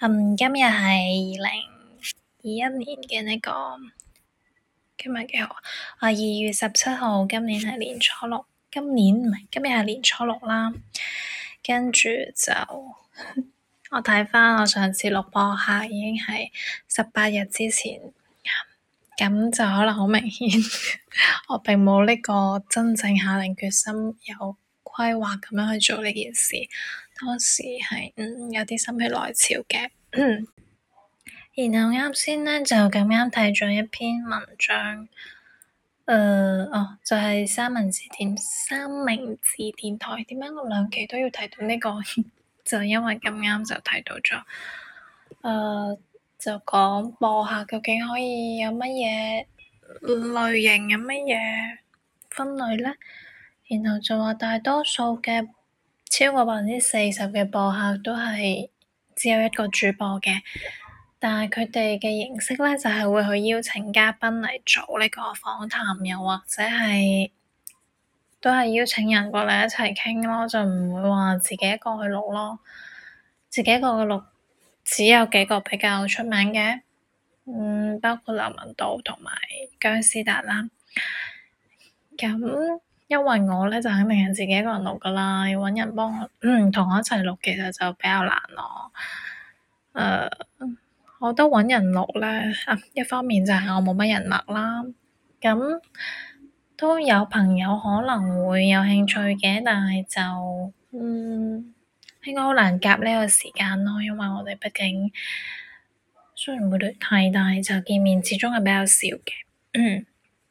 今日係2021年嘅今日幾號啊？2月17號，今年係年初六，今日係年初六啦。跟住就我睇返我上次錄播客已經係18日之前，咁就可能好明顯，我並冇呢個真正下定決心有規劃咁樣去做呢件事。當時係有啲心血來潮嘅。然後啱先咧就咁啱睇咗一篇文章，就係三明治電台。點解我兩期都要提到呢個？就因為咁啱就睇到咗，就講播客究竟可以有乜嘢類型，有乜嘢分類咧？然後就話大多數嘅超過40%嘅播客都係只有一個主播嘅。但係佢哋嘅形式咧，就係會去邀請嘉賓嚟做呢個訪談，又或者係都係邀請人過嚟一齊傾咯，就唔會話自己一個去錄咯。自己一個去錄，只有幾個比較出名嘅，包括劉文道同埋姜思達啦。咁因為我咧就肯定係自己一個人錄噶啦，要搵人幫我，同我一齊錄，其實就比較難咯。我覺得搵人錄咧，一方面就係我冇乜人脈啦，咁都有朋友可能會有興趣嘅，但係就應該好難夾呢個時間咯，因為我哋畢竟雖然會聯繫，但係就見面始終係比較少嘅。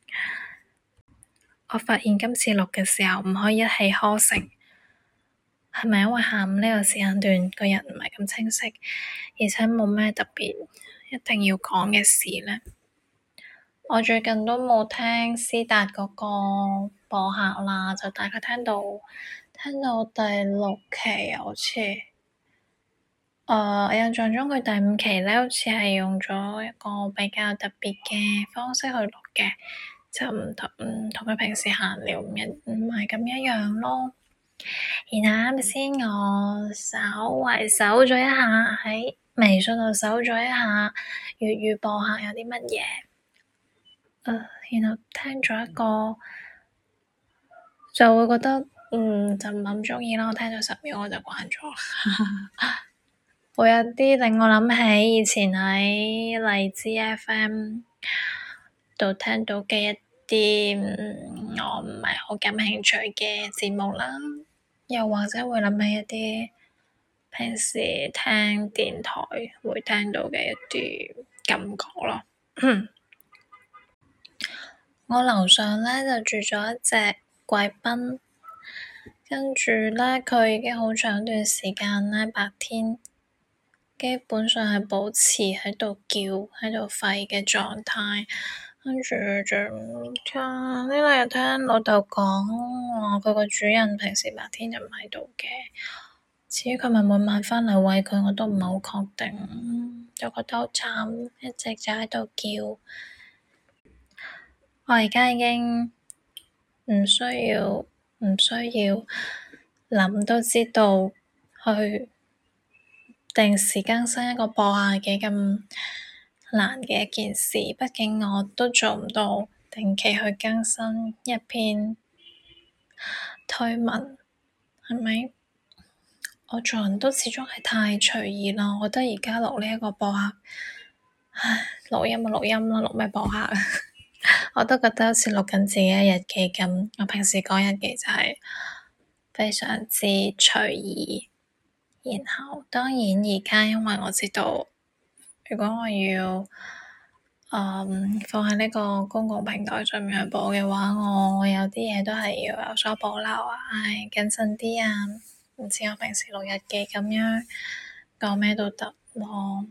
我發現今次錄嘅時候唔可以一氣呵成，係咪因為下午呢個時間段個人唔係咁清晰，而且冇咩特別一定要講嘅事咧？我最近都冇聽思達嗰個播客啦，就大概聽到第6期好似，我印象中佢第5期咧，好似係用咗一個比較特別嘅方式去錄嘅，就唔同佢平時閒聊唔係咁一樣咯。然後啱先我稍為搜咗一下喺微信度搜咗一下粵語播客有啲乜嘢，然後聽咗一個就會覺得就唔係咁鍾意啦。我聽咗10秒我就慣咗，會有啲令我諗起以前喺荔枝 FM 度聽到嘅一啲我唔係好感興趣嘅節目啦，又或者會諗起一啲平時聽電台會聽到嘅一啲感覺咯。我樓上咧就住咗一隻貴賓，跟住咧佢已經好長一段時間咧白天基本上係保持喺度叫喺度吠嘅狀態，跟住就呢兩日聽老豆講話佢個主人平時白天就唔喺度嘅，至於佢咪每晚返嚟餵佢，我都唔係好確定，就覺得好慘，一直就喺度叫。我而家已經唔需要諗都知道去定時更新一個播客係幾咁難嘅一件事，畢竟我都做唔到定期去更新一篇推文，係咪？我做人都始終係太隨意啦，我覺得而家錄呢一個播客，錄音啦，錄咩播客啊？我都覺得好似錄緊自己嘅日記咁。我平時講日記就係非常之隨意，然後當然而家因為我知道，如果我要放喺呢個公共平台上面去播嘅話，我有啲嘢都係要有所保留啊，謹慎啲啊，唔似我平時錄日記咁樣講咩都得咯。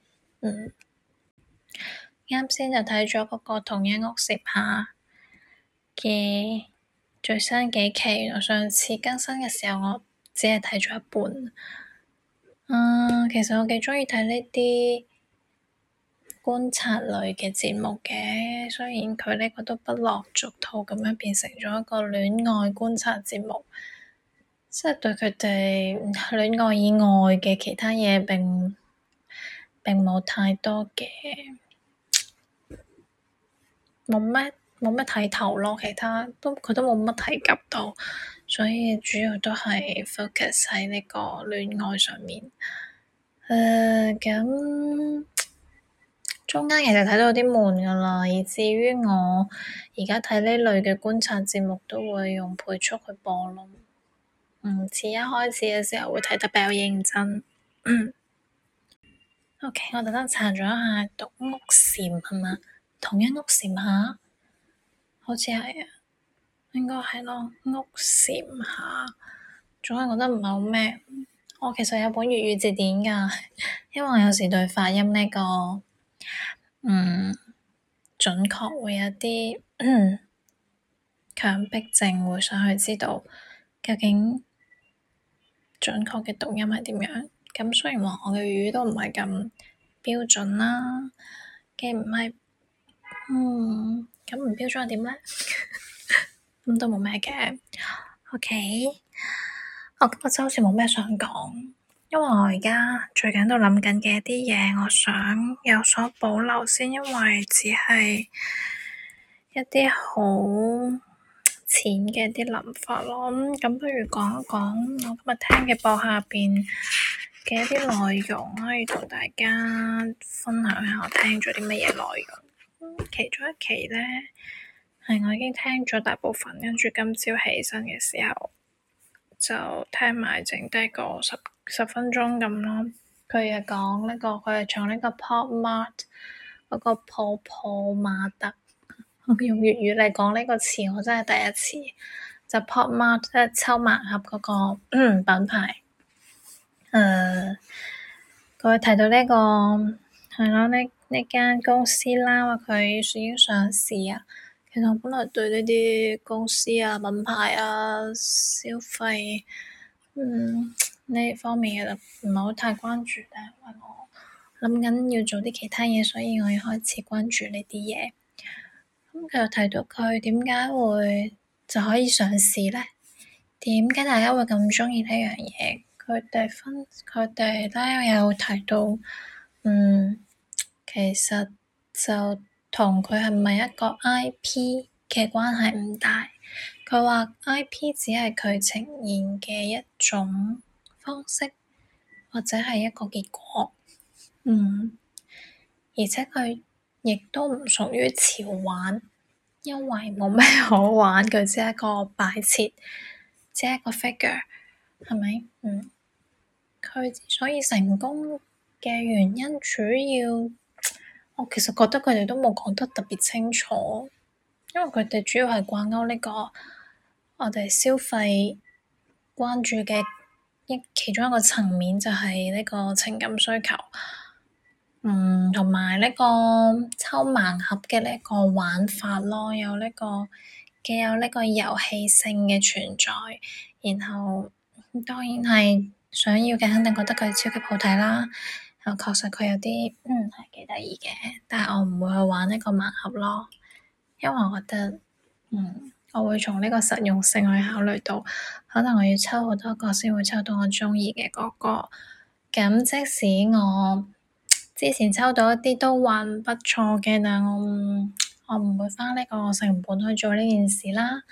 啱先就睇咗嗰個同一屋檐下嘅最新幾期，原來上次更新嘅時候我只係睇咗一半。其實我幾鍾意睇呢啲觀察類嘅節目嘅，雖然佢呢個都不落俗套咁樣變成咗一個戀愛觀察節目，即係對佢哋戀愛以外嘅其他嘢並並冇太多嘅冇咩睇頭咯，其他佢都冇乜提及到，所以主要都係 focus 喺呢個戀愛上面。咁中間其實睇到有啲悶㗎喇，以至於我而家睇呢類嘅觀察節目都會用倍速去播咯。唔似一開始嘅時候會睇得比較認真。OK，我特登查咗一下獨屋檐係嘛？同一屋檐下，好似係啊，應該係咯。屋檐下，總係覺得唔係好咩。我其實有本粵語字典㗎，因為我有時對發音呢個準確會有啲強迫症，會想去知道究竟準確嘅讀音係點樣。咁雖然話我嘅粵語都唔係咁標準啦，既唔係咁唔標準係點咧？咁都冇咩嘅。OK，我今日就好似冇咩想講，因為我而家最近都諗緊嘅一啲嘢，我想有所保留先，因為只係一啲好淺嘅一啲諗法咯。咁不如講一講我今日聽嘅播客入邊嘅一啲內容，可以同大家分享下我聽咗啲乜嘢內容。其中一期咧，係我已經聽咗大部分，跟住今朝起身嘅時候就聽埋剩低個十分鐘咁咯。佢係講呢個，佢係從呢個 Pop Mart 嗰個泡泡瑪特，用粵語嚟講呢個詞，我真係第一次。就 Pop Mart 即係抽盲盒嗰個品牌。佢提到呢個係咯，呢間公司啦，話佢已經上市啊。其實我本來對呢啲公司啊、品牌啊、消費呢方面嘅就唔係好太關注，但係因為我諗緊要做啲其他嘢，所以我要開始關注呢啲嘢。咁佢又提到佢點解會就可以上市咧？點解大家會咁鍾意呢樣嘢？佢哋咧有提到，其實就同佢係咪一個 IP 嘅關係唔大。佢話 IP 只係佢呈現嘅一種方式，或者係一個結果。而且佢亦都唔屬於潮玩，因為冇咩好玩，佢只係一個擺設，只係一個 figure，係咪？佢之所以成功嘅原因，主要我其實覺得佢哋都冇講得特別清楚，因為佢哋主要係掛鈎呢個我哋消費關注嘅其中一個層面，就係呢個情感需求。同埋呢個抽盲盒嘅呢個玩法咯，既有呢個遊戲性嘅存在，然後當然係想要嘅，肯定覺得佢超級好睇啦。然後確實佢有啲係幾得意嘅，但係我唔會去玩呢個盲盒咯，因為我覺得我會從呢個實用性去考慮到，可能我要抽好多個先會抽到我鍾意嘅嗰個。咁即使我之前抽到一啲都還不錯嘅，但係我唔會花呢個成本去做呢件事啦。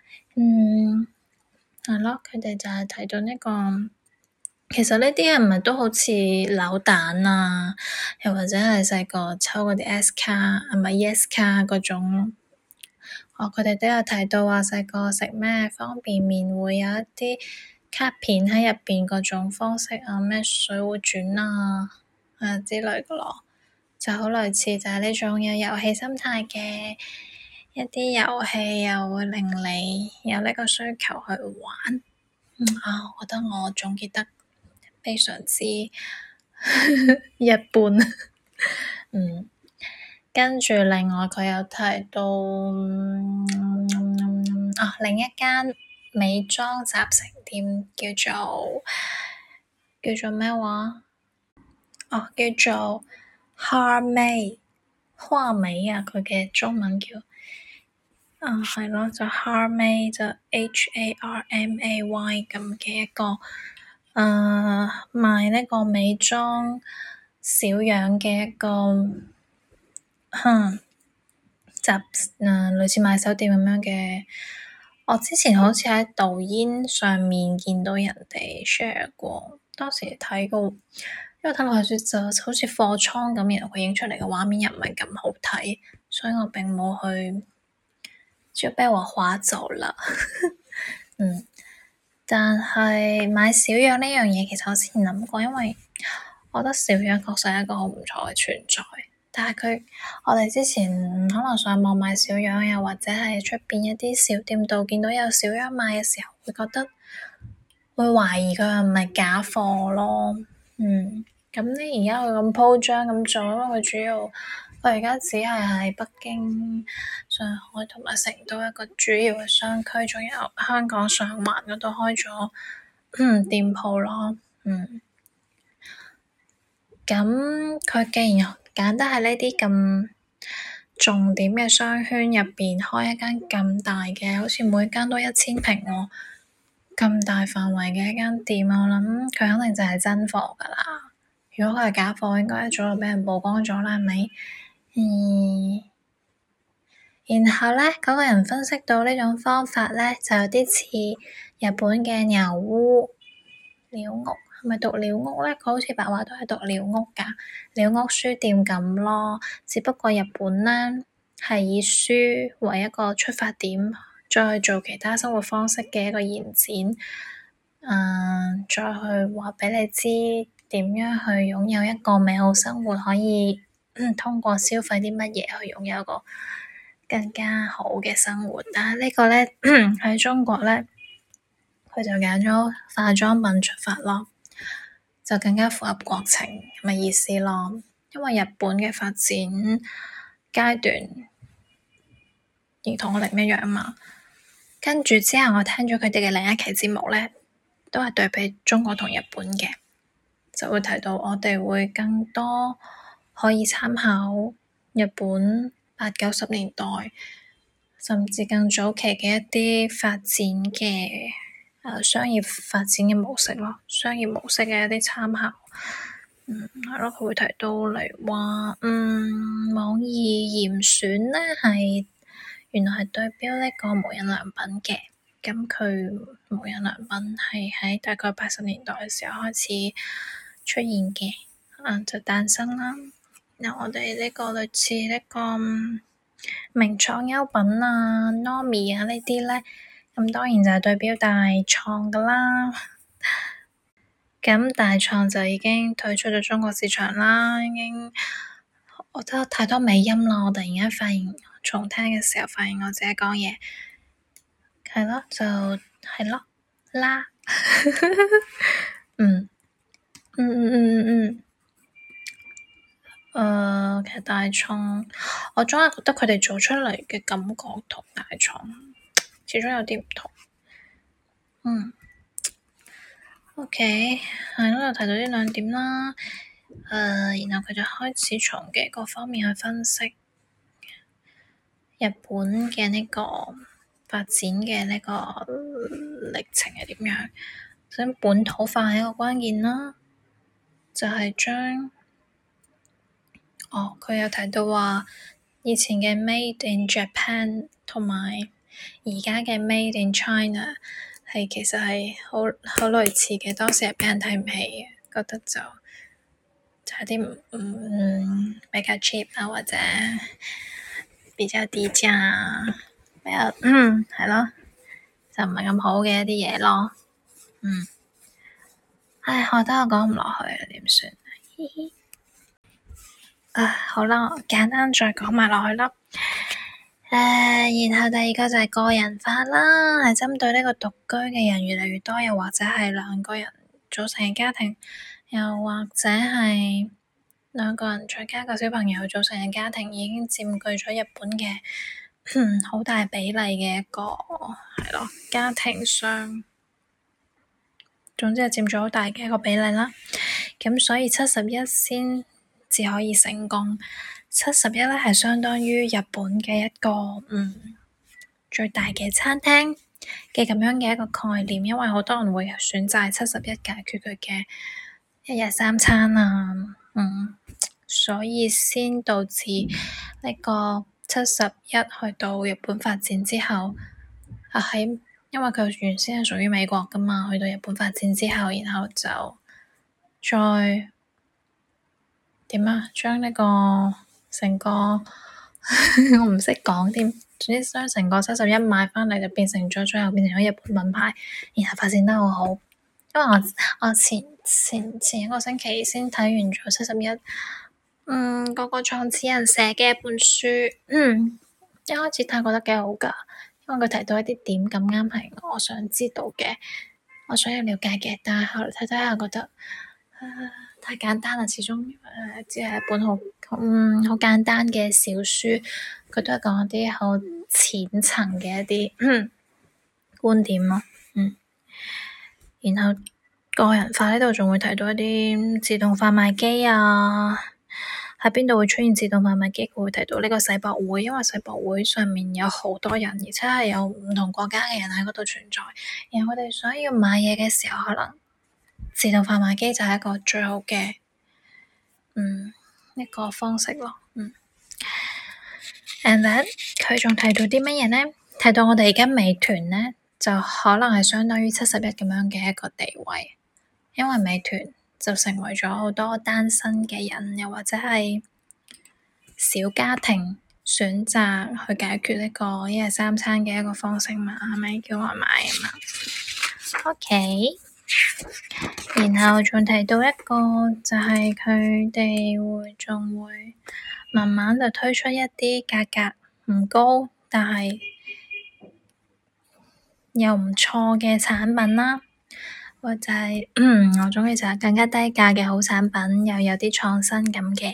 係咯，佢哋就係提到呢個，其實呢啲係咪都好似扭蛋啊，又或者係細個抽嗰啲 S 卡，係咪 Yes 卡嗰種？佢哋都有提到話細個食咩方便麵會有一啲卡片喺入邊嗰種方式啊，咩水滸傳啊之類嘅咯，就好類似就係呢種有遊戲心態嘅一啲遊戲，又會令你有呢個需求去玩。我覺得我總結得非常之一般。跟住另外佢有提到另一間美妝集成店叫做咩話？叫做花美啊，佢嘅中文叫係咯，就 Harmay 就 HARMAY 咁嘅一個賣呢個美妝小樣嘅一個類似買手店咁樣嘅。我之前好似喺抖音上面見到人哋 share 過，當時睇過，因為睇落去就好似貨倉咁，然後佢影出嚟嘅畫面又唔係咁好睇，所以我並冇去，就被我劃走了。但係買小樣呢樣嘢，其實我之前諗過，因為我覺得小樣確實係一個好唔錯嘅存在。但係我哋之前可能上網買小樣，又或者係出邊一啲小店度見到有小樣賣嘅時候，會覺得會懷疑佢係咪假貨咯。咁你而家佢咁鋪張咁做，因為佢主要佢而家只係喺北京、上海同埋成都一個主要嘅商區，仲有香港上環嗰度開咗店鋪咯。咁佢既然揀得喺呢啲咁重點嘅商圈入邊開一間咁大嘅，好似每間都1000平喎，咁大範圍嘅一間店，我諗佢肯定就係真貨㗎啦。如果佢係假貨，應該一早就畀人曝光咗啦，係咪？然後咧，嗰個人分析到呢種方法咧，就有啲似日本嘅鳥屋，係咪讀鳥屋咧？佢好似白話都係讀鳥屋㗎，鳥屋書店咁咯。只不過日本咧係以書為一個出發點，再去做其他生活方式嘅一個延展。再去話畀你知點樣去擁有一個美好生活，可以通過消費啲乜嘢去擁有一個更加好嘅生活。但係呢個咧喺中國咧，佢就揀咗化妝品出發咯，就更加符合國情咁嘅意思咯。因為日本嘅發展階段亦同我哋唔一樣嘛。跟住之後，我聽咗佢哋嘅另一期節目咧，都係對比中國同日本嘅，就會提到我哋會更多可以參考日本80、90年代，甚至更早期嘅一啲發展嘅商業發展嘅模式咯，商業模式嘅一啲參考。係咯，佢會提到例如話，網易嚴選咧係原來係對標呢個無印良品嘅。咁佢無印良品係喺大概80年代嘅時候開始出現嘅，就誕生啦。嗱，我哋呢個類似呢個名創優品啊、Nomi 啊呢啲咧，咁當然就係對標大創噶啦。咁大創就已經退出咗中國市場啦，已經我覺得太多尾音啦。我突然間發現重聽嘅時候，發現我自己講嘢。係咯，就係咯啦。其實大創，我總係覺得佢哋做出嚟嘅感覺同大創始終有啲唔同。OK，係咯，就提到呢兩點啦。然後佢就開始從幾個方面去分析日本嘅呢個發展嘅呢個歷程係點樣，咁本土化係一個關鍵啦，就係將佢有提到話以前嘅 Made in Japan 同埋而家嘅 Made in China 係其實係好類似嘅，當時係畀人睇唔起嘅，覺得就係啲比較 cheap 啊，或者比較低價啊，比較係咯，就唔係咁好嘅一啲嘢咯。唉，我覺得我講唔落去，點算？嘻嘻。好啦，我簡單再講埋落去啦。然後第二個就係個人化啦，係針對呢個獨居嘅人越嚟越多，又或者係兩個人組成嘅家庭，又或者係兩個人再加個小朋友組成嘅家庭，已經佔據咗日本嘅好大比例嘅一個係咯家庭上，總之係佔咗好大嘅一個比例啦。咁所以71先至可以成功。71咧係相當於日本嘅一個最大嘅餐廳嘅咁樣嘅一個概念，因為好多人會選擇71解決佢嘅一日三餐啊， 所以先導致呢個71去到日本發展之後，因為佢原先係屬於美國噶嘛，去到日本發展之後，然後就再點啊，將呢個成個我唔識講添，總之將成個71買翻嚟就變成咗最後變成咗日本品牌，然後發展得好好。因為我前一個星期先睇完咗71，嗰個創始人寫嘅一本書，一開始睇覺得幾好㗎，因為佢提到一啲點咁啱係我想知道嘅，我想要了解嘅，但係後來睇睇下覺得，太簡單啦，始終只係一本好簡單嘅小書，佢都係講一啲好淺層嘅一啲觀點咯，然後個人化呢度仲會提到一啲自動販賣機啊，喺邊度會出現自動販賣機？佢會提到呢個世博會，因為世博會上面有好多人，而且係有唔同國家嘅人喺嗰度存在，然後佢哋想要買嘢嘅時候，可能自動販賣機就係一個最好嘅一個方式咯。And then 佢仲提到啲乜嘢呢？提到我哋而家美團呢，就可能係相當於71咁樣嘅一個地位，因為美團就成為咗好多單身嘅人，又或者係小家庭選擇去解決呢個一日三餐嘅一個方式嘛，係咪叫外賣啊嘛？OK，然後仲提到一個就係佢哋仲會慢慢就推出一啲價格唔高，但係又唔錯嘅產品啦，或者係我鍾意就係更加低價嘅好產品，又有啲創新感嘅。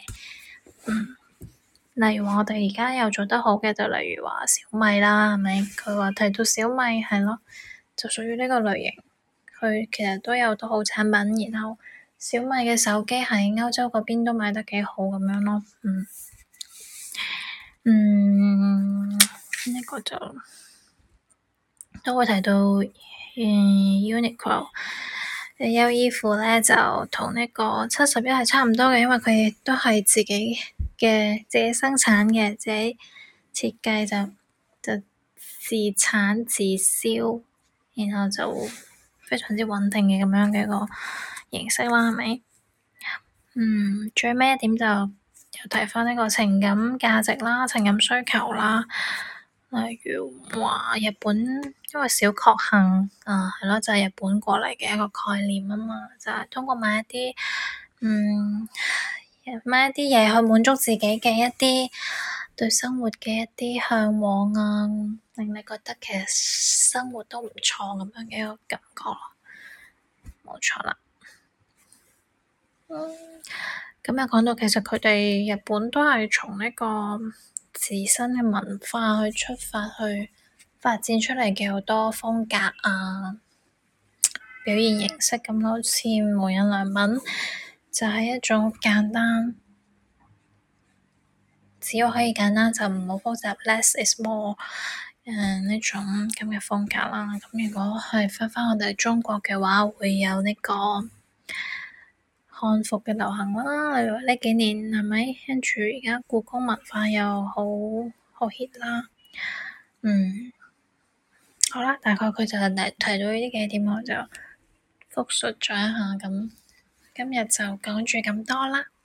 例如話我哋而家又做得好嘅，就例如話小米啦，係咪？佢話提到小米係咯，就屬於呢個類型。佢其實都有好多好產品，然後小米嘅手機喺歐洲嗰邊都賣得幾好咁樣咯。呢個就都會提到Uniqlo。優衣庫咧就同呢個71係差唔多嘅，因為佢都係自己生產嘅，自己設計就自產自銷，然後就非常之穩定嘅咁樣嘅一個形式啦，係咪？最尾一點就又提翻呢個情感價值啦、情感需求啦。例如話日本，因為小確幸係咯，就係日本過嚟嘅一個概念啊嘛，就係通過買一啲嘢去滿足自己嘅一啲對生活嘅一啲向往啊，令你覺得其實生活都唔錯咁樣嘅一個感覺咯，冇錯啦。咁又講到其實佢哋日本都係從呢個自身嘅文化去出發去發展出嚟嘅好多風格啊，表現形式咁，好似無印良品就係一種簡單，只要可以簡單就唔好複雜，less is more 呢種咁嘅風格啦。咁如果係返我哋中國嘅話，會有呢個漢服嘅流行啦，例如呢幾年係咪？跟住而家故宮文化又好 hit 啦。好啦，大概佢就係提到呢啲幾點，我就複述咗一下咁。今日就講住咁多啦。